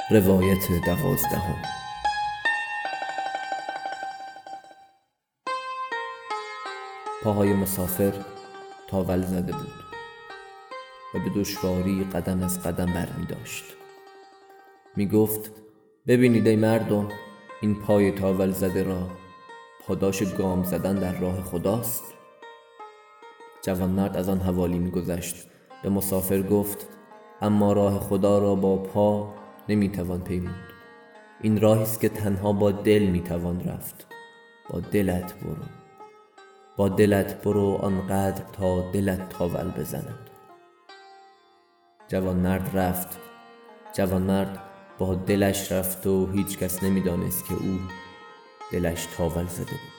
روایت 12. پاهای مسافر تاول زده بود و به دشواری قدم از قدم برمی داشت. می گفت: ببینید ای مردم، این پای تاول زده را پاداش گام زدن در راه خداست. جوانمرد از آن حوالی می گذشت. به مسافر گفت: اما راه خدا را با پا نمی توان پیمود. این راهی است که تنها با دل می توان رفت. با دلت برو آنقدر تا دلت تاول بزند. جوانمرد رفت. جوانمرد با دلش رفت و هیچ کس نمی دانست که او دلش تاول زده بود.